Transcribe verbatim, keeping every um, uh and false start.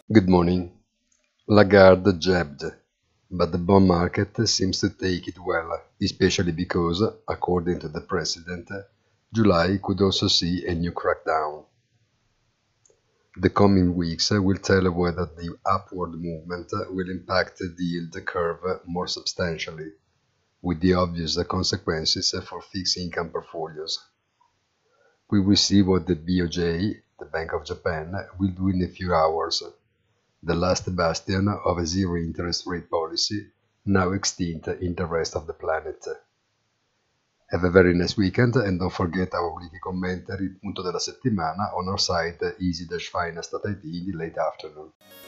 Good morning. Lagarde jabbed, but the bond market seems to take it well, especially because, according to the president, July could also see a new crackdown. The coming weeks will tell whether the upward movement will impact the yield curve more substantially, with the obvious consequences for fixed income portfolios. We will see what the B O J, the Bank of Japan, will do in a few hours, the last bastion of a zero interest rate policy, now extinct in the rest of the planet. Have a very nice weekend and don't forget our weekly commentary, il punto della settimana, on our site easy dash finance dot it in the late afternoon.